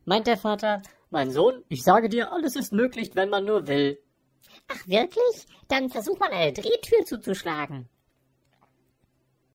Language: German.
meint der Vater, mein Sohn, ich sage dir, alles ist möglich, wenn man nur will. Ach wirklich? Dann versuch mal eine Drehtür zuzuschlagen.